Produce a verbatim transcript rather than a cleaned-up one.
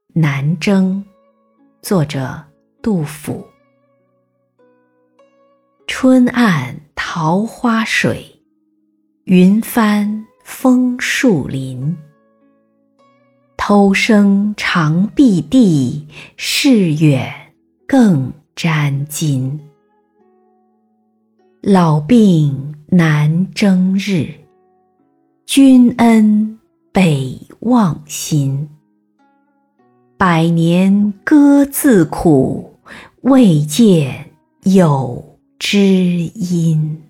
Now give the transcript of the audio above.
南征，作者杜甫。春暗桃花水，云翻枫树林。偷生长避地，视远更沾襟。老病难征日，君恩北望心。百年歌自苦，未见有知音。